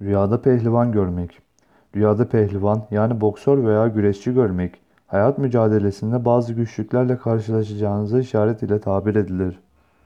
Rüyada pehlivan görmek. Rüyada pehlivan yani boksör veya güreşçi görmek, hayat mücadelesinde bazı güçlüklerle karşılaşacağınıza işaret ile tabir edilir.